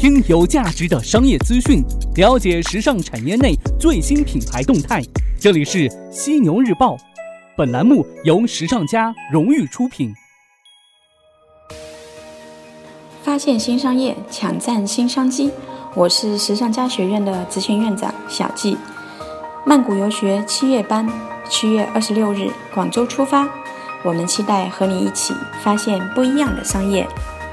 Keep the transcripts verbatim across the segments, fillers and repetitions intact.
听有价值的商业资讯，了解时尚产业内最新品牌动态。这里是犀牛日报，本栏目由时尚家荣誉出品。 发现新商业，抢占新商机。我是时尚家学院的执行院长小季。曼谷游学七月班，七月二十六日广州出发，我们期待和你一起发现不一样的商业。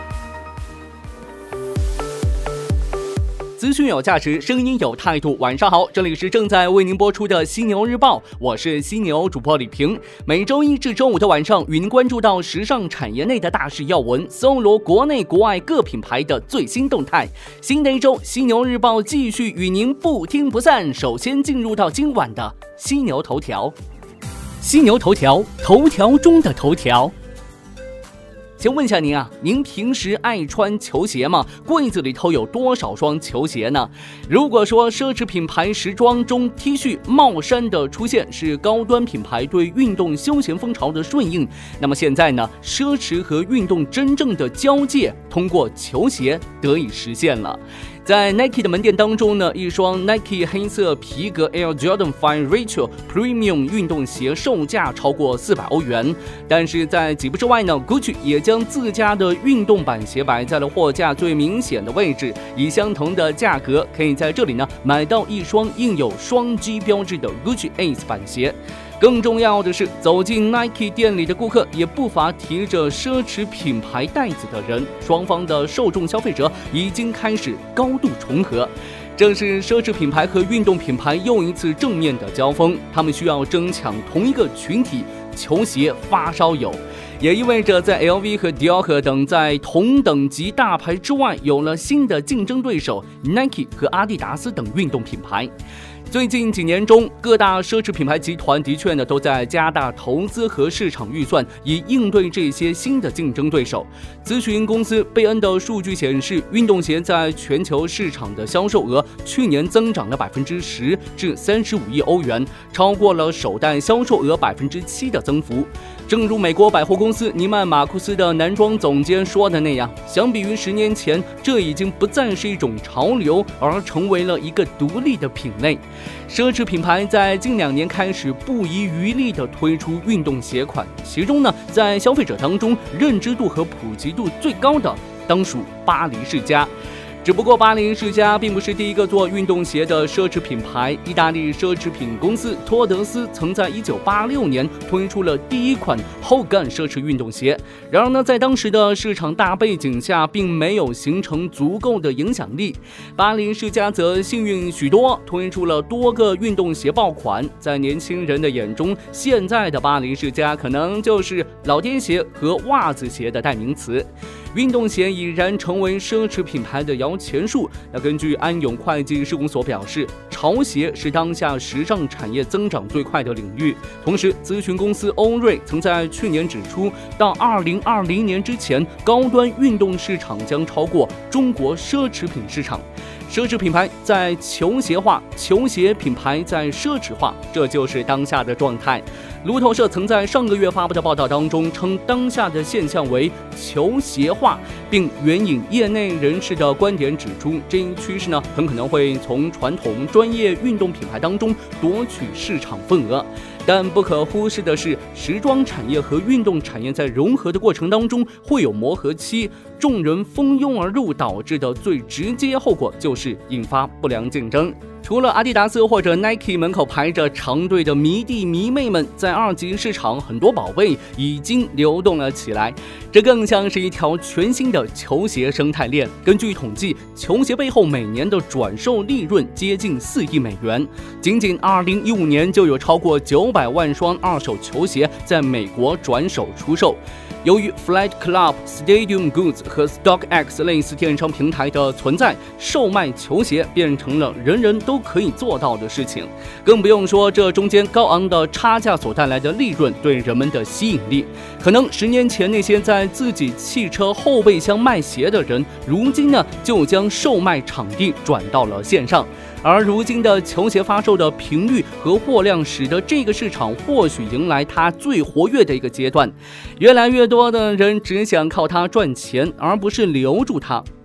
资讯有价值，声音有态度。晚上好，这里是正在为您播出的犀牛日报，我是犀牛主播李平。每周一至周五的晚上，与您关注到时尚产业内的大事要闻，搜罗国内国外各品牌的最新动态。新的一周，犀牛日报继续与您不听不散。首先进入到今晚的犀牛头条。犀牛头条，头条中的头条。先问一下您啊，您平时爱穿球鞋吗？柜子里头有多少双球鞋呢？如果说奢侈品牌时装中 T 恤帽衫的出现是高端品牌对运动休闲风潮的顺应，那么现在呢，奢侈和运动真正的交界通过球鞋得以实现了。在 Nike 的门店当中呢，一双 Nike 黑色皮革 Air Jordan five Retro Premium 运动鞋售价超过四百欧元，但是在几步之外呢 Gucci 也将自家的运动版鞋摆在了货架最明显的位置，以相同的价格可以在这里呢买到一双印有双 G 标志的 Gucci Ace 版鞋。更重要的是，走进 Nike 店里的顾客也不乏提着奢侈品牌袋子的人，双方的受众消费者已经开始高度重合。正是奢侈品牌和运动品牌又一次正面的交锋，他们需要争抢同一个群体——球鞋发烧友，也意味着在 L V 和 Dior 等在同等级大牌之外，有了新的竞争对手 Nike 和阿迪达斯等运动品牌。最近几年中，各大奢侈品牌集团的确呢都在加大投资和市场预算，以应对这些新的竞争对手。咨询公司贝恩的数据显示，运动鞋在全球市场的销售额去年增长了百分之十至三十五亿欧元，超过了首代销售额百分之七的增幅。正如美国百货公司尼曼马库斯的男装总监说的那样，相比于十年前，这已经不再是一种潮流，而成为了一个独立的品类。奢侈品牌在近两年开始不遗余力地推出运动鞋款，其中呢，在消费者当中认知度和普及度最高的当属巴黎世家。只不过巴黎世家并不是第一个做运动鞋的奢侈品牌，意大利奢侈品公司托德斯曾在一九八六年推出了第一款后杠奢侈运动鞋。然而呢，在当时的市场大背景下，并没有形成足够的影响力。巴黎世家则幸运许多，推出了多个运动鞋爆款。在年轻人的眼中，现在的巴黎世家可能就是老爹鞋和袜子鞋的代名词。运动鞋已然成为奢侈品牌的摇钱树。那根据安永会计事务所表示，潮鞋是当下时尚产业增长最快的领域。同时，咨询公司欧瑞曾在去年指出，到二零二零年之前，高端运动市场将超过中国奢侈品市场。奢侈品牌在球鞋化，球鞋品牌在奢侈化，这就是当下的状态。路透社曾在上个月发布的报道当中称，当下的现象为球鞋化，并援引业内人士的观点指出，这一趋势呢，很可能会从传统专业运动品牌当中夺取市场份额。但不可忽视的是，时装产业和运动产业在融合的过程当中会有磨合期，众人蜂拥而入导致的最直接后果就是引发不良竞争。除了阿迪达斯或者 Nike 门口排着长队的迷弟迷妹们，在二级市场很多宝贝已经流动了起来，这更像是一条全新的球鞋生态链。根据统计，球鞋背后每年的转售利润接近四亿美元，仅仅二零一五年就有超过九百万双二手球鞋在美国转手出售。由于 Flight Club、Stadium Goods 和 StockX 类似电商平台的存在，售卖球鞋变成了人人都可以做到的事情。更不用说这中间高昂的差价所带来的利润对人们的吸引力。可能十年前那些在自己汽车后备箱卖鞋的人，如今呢就将售卖场地转到了线上。而如今的球鞋发售的频率和货量，使得这个市场或许迎来它最活跃的一个阶段。越来越多的人只想靠它赚钱，而不是留住它。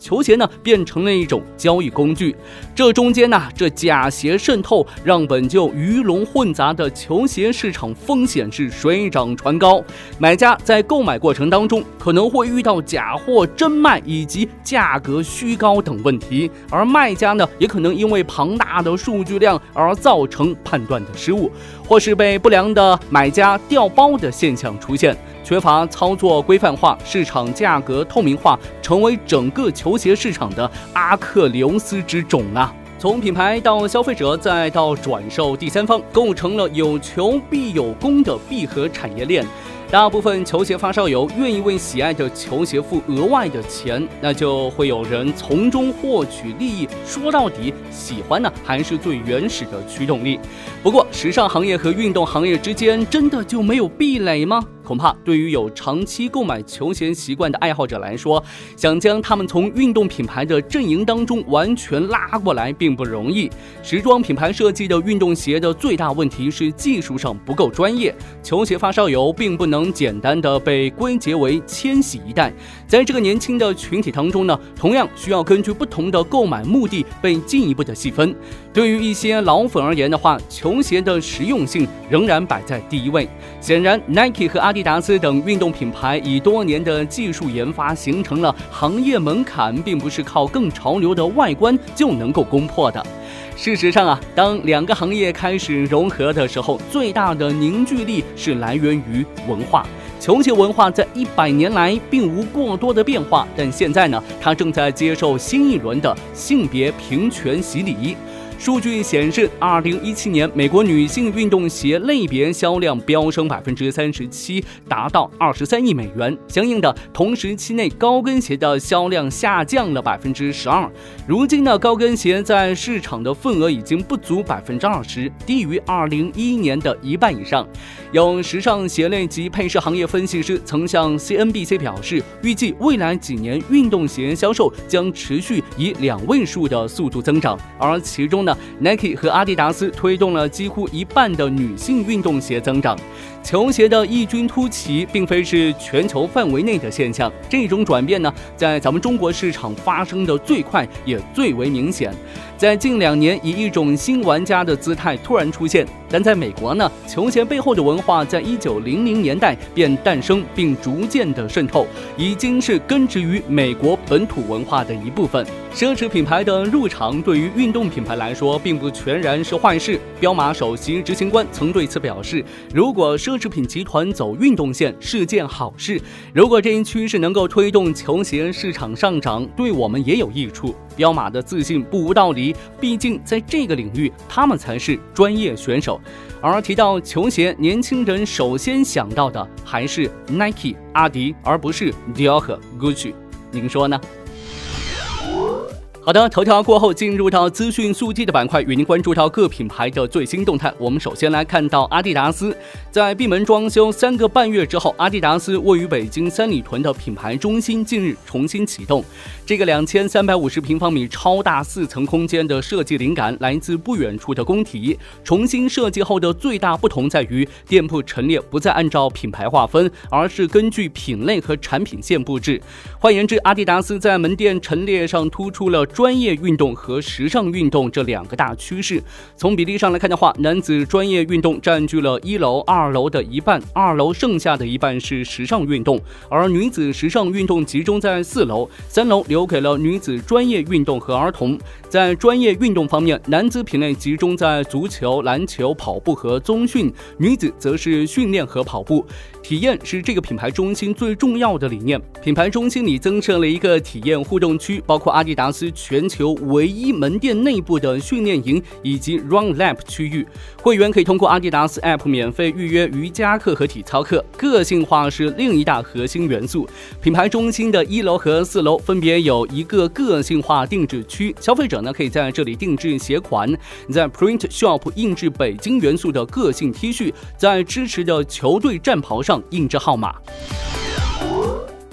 球鞋呢变成了一种交易工具。这中间呢，这假鞋渗透，让本就鱼龙混杂的球鞋市场风险是水涨船高。买家在购买过程当中可能会遇到假货真卖以及价格虚高等问题，而卖家呢也可能因为庞大的数据量而造成判断的失误，或是被不良的买家调包的现象出现。缺乏操作规范化，市场价格透明化，成为整个球鞋市场的阿克琉斯之踵啊！从品牌到消费者再到转售第三方，构成了有求必有供的闭合产业链。大部分球鞋发烧友愿意为喜爱的球鞋付额外的钱，那就会有人从中获取利益。说到底，喜欢呢还是最原始的驱动力。不过，时尚行业和运动行业之间真的就没有壁垒吗？恐怕对于有长期购买球鞋习惯的爱好者来说，想将他们从运动品牌的阵营当中完全拉过来并不容易。时装品牌设计的运动鞋的最大问题是技术上不够专业，球鞋发烧友并不能简单的被归结为千禧一代。在这个年轻的群体当中呢，同样需要根据不同的购买目的被进一步的细分。对于一些老粉而言的话，球鞋的实用性仍然摆在第一位。显然 Nike 和阿迪达斯等运动品牌以多年的技术研发形成了行业门槛，并不是靠更潮流的外观就能够攻破的。事实上啊，当两个行业开始融合的时候，最大的凝聚力是来源于文化。球鞋文化在一百年来并无过多的变化，但现在呢，它正在接受新一轮的性别平权洗礼。数据显示，二零一七年美国女性运动鞋类别销量飙升百分之三十七，达到二十三亿美元。相应的，同时期内高跟鞋的销量下降了百分之十二。如今呢，高跟鞋在市场的份额已经不足百分之二十，低于二零一一年的一半以上。有时尚鞋类及配饰行业分析师曾向 C N B C 表示，预计未来几年运动鞋销售将持续以两位数的速度增长，而其中呢 Nike 和阿迪达斯推动了几乎一半的女性运动鞋增长。球鞋的异军突起并非是全球范围内的现象，这种转变呢，在咱们中国市场发生的最快也最为明显。在近两年以一种新玩家的姿态突然出现，但在美国呢，球鞋背后的文化在一九零零年代便诞生并逐渐的渗透，已经是根植于美国本土文化的一部分。奢侈品牌的入场对于运动品牌来说并不全然是坏事。彪马首席执行官曾对此表示，如果奢侈品集团走运动线是件好事，如果这一趋势能够推动球鞋市场上涨，对我们也有益处。彪马的自信不无道理，毕竟在这个领域他们才是专业选手。而提到球鞋，年轻人首先想到的还是 Nike、阿迪，而不是 Dior 和 Gucci， 您说呢？好的，头条过后进入到资讯速递的板块，与您关注到各品牌的最新动态。我们首先来看到阿迪达斯，在闭门装修三个半月之后，阿迪达斯位于北京三里屯的品牌中心近日重新启动。这个两千三百五十平方米超大四层空间的设计灵感来自不远处的工体。重新设计后的最大不同在于，店铺陈列不再按照品牌划分，而是根据品类和产品线布置。换言之，阿迪达斯在门店陈列上突出了专业运动和时尚运动这两个大趋势。从比例上来看的话，男子专业运动占据了一楼、二楼的一半，二楼剩下的一半是时尚运动，而女子时尚运动集中在四楼，三楼留给了女子专业运动和儿童。在专业运动方面，男子品类集中在足球、篮球、跑步和综训，女子则是训练和跑步。体验是这个品牌中心最重要的理念。品牌中心里增设了一个体验互动区，包括阿迪达斯全球唯一门店内部的训练营以及 Run Lab 区域。会员可以通过阿迪达斯 App 免费预约瑜伽课和体操课。个性化是另一大核心元素。品牌中心的一楼和四楼分别有一个个性化定制区，消费者呢可以在这里定制鞋款，在 Print Shop 印制北京元素的个性 T 恤，在支持的球队战袍上印制号码。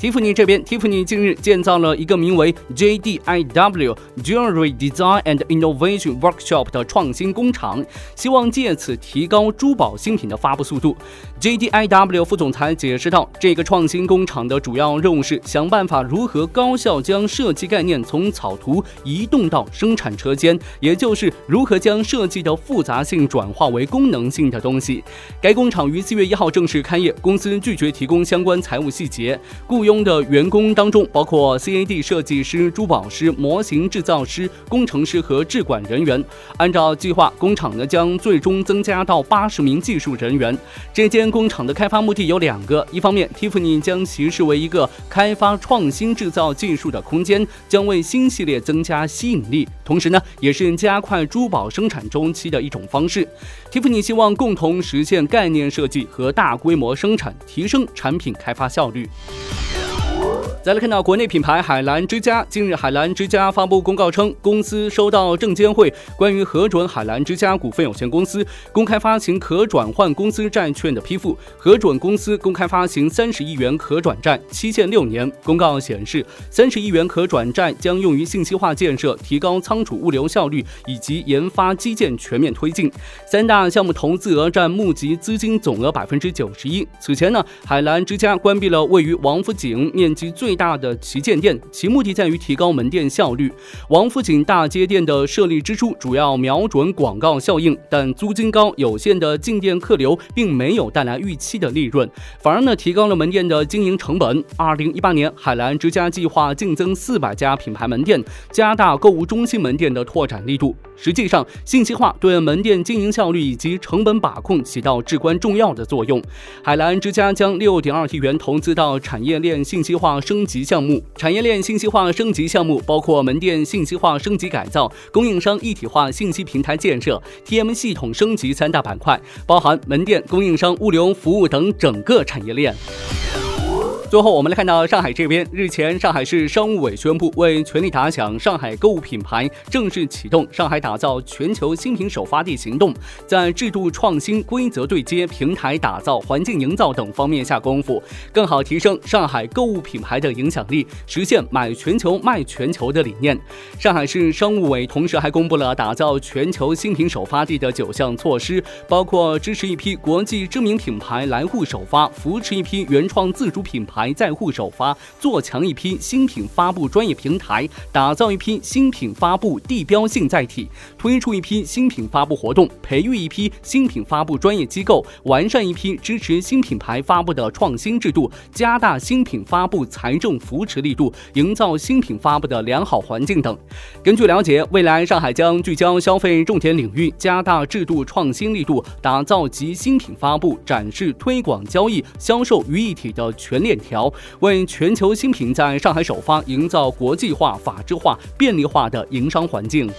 Tiffany 这边 ，Tiffany 近日建造了一个名为 J D I W Jewelry Design and Innovation Workshop 的创新工厂，希望借此提高珠宝新品的发布速度。J D I W 副总裁解释道，这个创新工厂的主要任务是想办法如何高效将设计概念从草图移动到生产车间，也就是如何将设计的复杂性转化为功能性的东西。该工厂于四月一号正式开业，公司拒绝提供相关财务细节。雇佣的员工当中包括 C A D 设计师、珠宝师、模型制造师、工程师和制管人员。按照计划，工厂呢将最终增加到八十名技术人员。这间工厂的开发目的有两个，一方面 Tiffany 将其视为一个开发创新制造技术的空间，将为新系列增加吸引力，同时呢也是加快珠宝生产周期的一种方式。Tiffany 希望共同实现概念设计和大规模生产，提升产品开发效率。再来看到国内品牌海澜之家，近日海澜之家发布公告称，公司收到证监会关于核准海澜之家股份有限公司公开发行可转换公司债券的批复，核准公司公开发行三十亿元可转债，期限六年。公告显示，三十亿元可转债将用于信息化建设，提高仓储物流效率以及研发基建全面推进。三大项目投资额占募集资金总额百分之九十一。此前呢，海澜之家关闭了位于王府井面积最大的旗舰店，其目的在于提高门店效率。王府井大街店的设立之初主要瞄准广告效应，但租金高、有限的进店客流并没有带来预期的利润，反而呢提高了门店的经营成本。二零一八年，海澜之家计划净增四百家品牌门店，加大购物中心门店的拓展力度。实际上，信息化对门店经营效率以及成本把控起到至关重要的作用。海澜之家将六点二亿元投资到产业链信息化升级项目。产业链信息化升级项目包括门店信息化升级改造、供应商一体化信息平台建设、T M 系统升级三大板块，包含门店、供应商、物流服务等整个产业链。最后我们来看到上海这边，日前上海市商务委宣布，为全力打响上海购物品牌正式启动上海打造全球新品首发地行动，在制度创新、规则对接、平台打造、环境营造等方面下功夫，更好提升上海购物品牌的影响力，实现买全球卖全球的理念。上海市商务委同时还公布了打造全球新品首发地的九项措施，包括支持一批国际知名品牌来沪首发，扶持一批原创自主品牌在沪首发，做强一批新品发布专业平台，打造一批新品发布地标性载体，推出一批新品发布活动，培育一批新品发布专业机构，完善一批支持新品牌发布的创新制度，加大新品发布财政扶持力度，营造新品发布的良好环境等。根据了解，未来上海将聚焦消费重点领域，加大制度创新力度，打造集新品发布、展示、推广、交易、销售于一体的全链条，为全球新品在上海首发营造国际化、法治化、便利化的营商环境。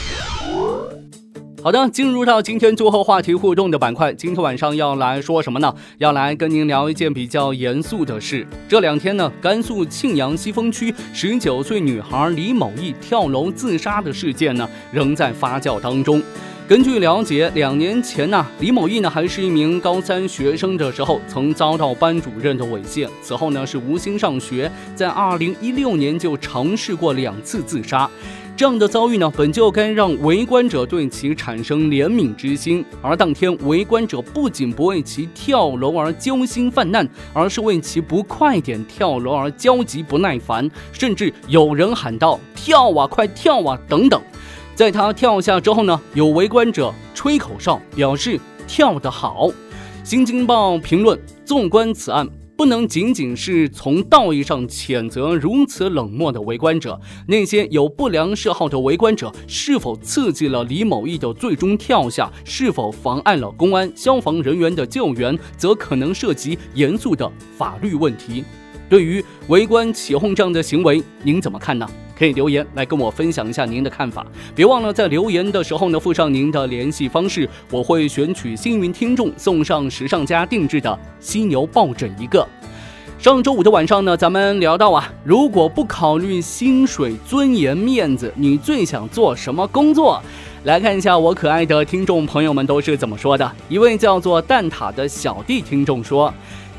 好的，进入到今天最后话题互动的板块，今天晚上要来说什么呢？要来跟您聊一件比较严肃的事。这两天呢，甘肃庆阳西峰区十九岁女孩李某毅跳楼自杀的事件呢，仍在发酵当中。根据了解，两年前呢，李某毅呢还是一名高三学生的时候，曾遭到班主任的猥亵，此后呢是无心上学，在二零一六年就尝试过两次自杀。这样的遭遇呢，本就该让围观者对其产生怜悯之心，而当天围观者不仅不为其跳楼而揪心犯难，而是为其不快点跳楼而焦急不耐烦，甚至有人喊道：“跳啊，快跳啊！”等等。在他跳下之后呢，有围观者吹口哨表示跳得好。新京报评论：纵观此案，不能仅仅是从道义上谴责如此冷漠的围观者，那些有不良嗜好的围观者是否刺激了李某毅的最终跳下，是否妨碍了公安、消防人员的救援，则可能涉及严肃的法律问题。对于围观起哄这样的行为，您怎么看呢？可以留言来跟我分享一下您的看法，别忘了在留言的时候呢附上您的联系方式，我会选取幸运听众送上时尚家定制的犀牛抱枕一个。上周五的晚上呢，咱们聊到啊，如果不考虑薪水、尊严、面子，你最想做什么工作？来看一下我可爱的听众朋友们都是怎么说的。一位叫做蛋挞的小弟听众说，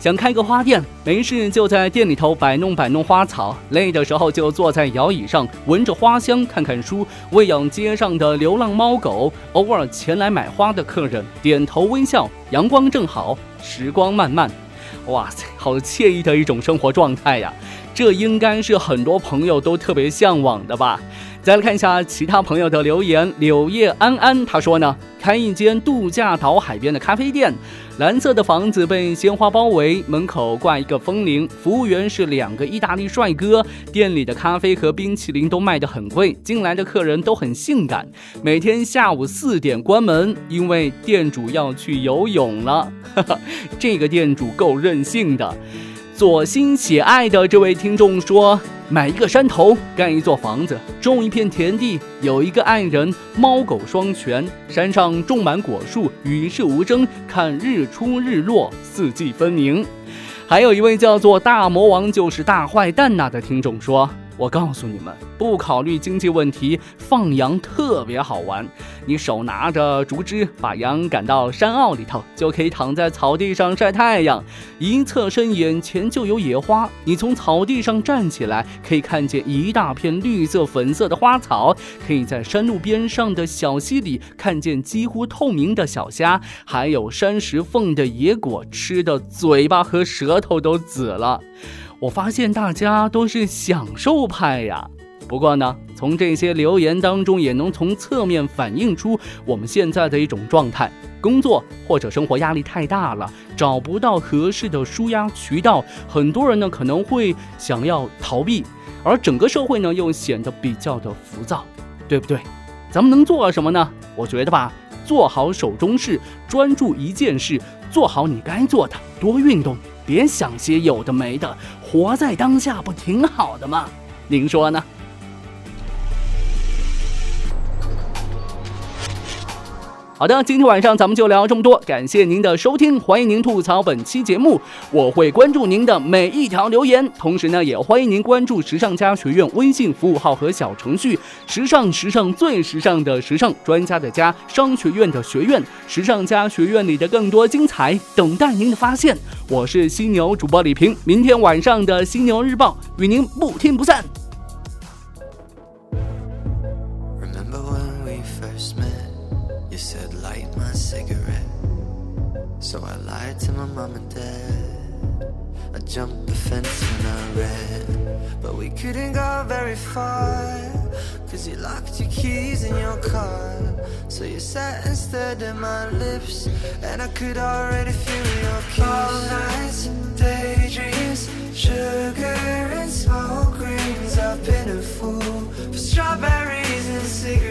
想开个花店，没事就在店里头摆弄摆弄花草，累的时候就坐在摇椅上闻着花香看看书，喂养街上的流浪猫狗，偶尔前来买花的客人点头微笑，阳光正好，时光漫漫。哇塞，好惬意的一种生活状态呀！这应该是很多朋友都特别向往的吧。再来看一下其他朋友的留言，柳叶安安他说呢，开一间度假岛海边的咖啡店，蓝色的房子被鲜花包围，门口挂一个风铃，服务员是两个意大利帅哥，店里的咖啡和冰淇淋都卖得很贵，进来的客人都很性感，每天下午四点关门，因为店主要去游泳了。这个店主够任性的。左心写爱的这位听众说，买一个山头，盖一座房子，种一片田地，有一个爱人，猫狗双全，山上种满果树，与世无争，看日出日落，四季分明。还有一位叫做大魔王就是大坏蛋呐的听众说，我告诉你们，不考虑经济问题，放羊特别好玩。你手拿着竹枝，把羊赶到山坳里头，就可以躺在草地上晒太阳。一侧身眼前就有野花，你从草地上站起来，可以看见一大片绿色粉色的花草，可以在山路边上的小溪里看见几乎透明的小虾，还有山石缝的野果，吃的嘴巴和舌头都紫了。我发现大家都是享受派呀。不过呢，从这些留言当中也能从侧面反映出我们现在的一种状态，工作或者生活压力太大了，找不到合适的抒压渠道，很多人呢可能会想要逃避，而整个社会呢又显得比较的浮躁，对不对？咱们能做什么呢？我觉得吧，做好手中事，专注一件事，做好你该做的，多运动，别想些有的没的，活在当下不挺好的吗？您说呢？好的，今天晚上咱们就聊这么多，感谢您的收听，欢迎您吐槽本期节目，我会关注您的每一条留言，同时呢，也欢迎您关注时尚家学院微信服务号和小程序，时尚时尚最时尚的时尚，专家的家，商学院的学院，时尚家学院里的更多精彩等待您的发现。我是犀牛主播李平，明天晚上的犀牛日报与您不听不散。 You said light my cigarette, so I lied to my mom and dad. I jumped the fence when I ran, but we couldn't go very far, cause you locked your keys in your car. So you sat and stared at my lips, and I could already feel your kiss. All nights, daydreams, sugar and smoke rings. I've been a fool for strawberries and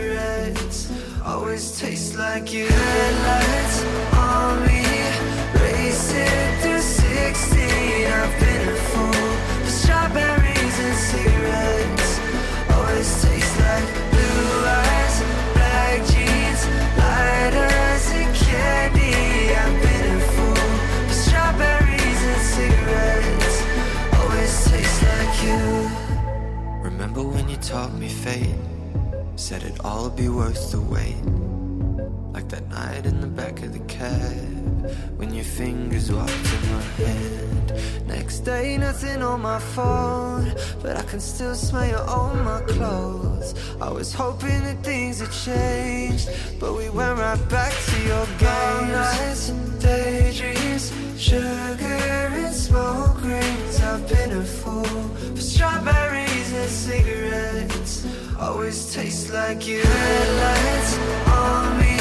cigarettes.Always taste like you. Headlights on me, racing through sixteen. I've been a fool for strawberries and cigarettes. Always taste like blue eyes, black jeans, lighters and candy. I've been a fool for strawberries and cigarettes. Always taste like you. Remember when you taught me fate?Said it'd all be worth the wait, like that night in the back of the cab, when your fingers walked in my hand. Next day, nothing on my phone, but I can still smell you on my clothes. I was hoping that things had changed, but we went right back to your games. Nights and daydreams, sugar and smoke rings. I've been a fool for strawberries and cigarettes.Always taste like you. Headlights on me,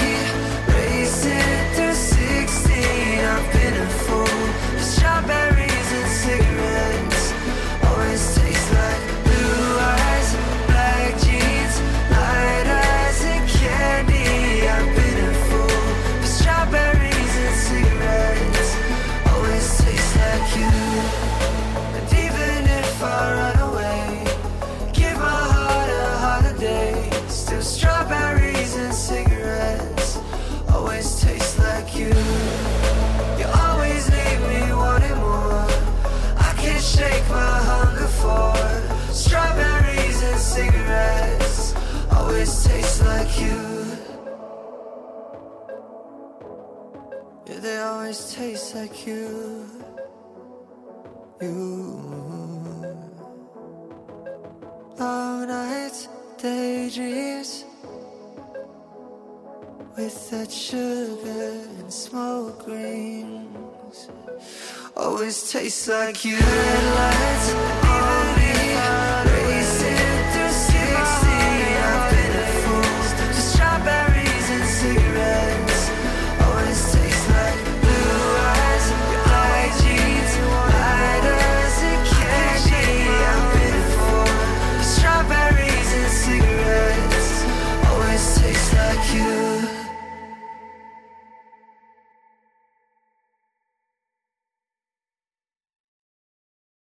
racing through sixteen. I've been a fool for strawberries and cigarettes. Always taste like blue eyes, black jeans, lighters and candy. I've been a fool for strawberries and cigarettes. Always taste like you. And even if I run away,Give my heart a holiday. Still strawberries and cigarettes. Always taste like you. You always leave me wanting more. I can't shake my hunger for strawberries and cigarettes. Always taste like you. Yeah, they always taste like you. you. Long nights, daydreams, with that sugar and smoke rings, always taste like you. Headlights on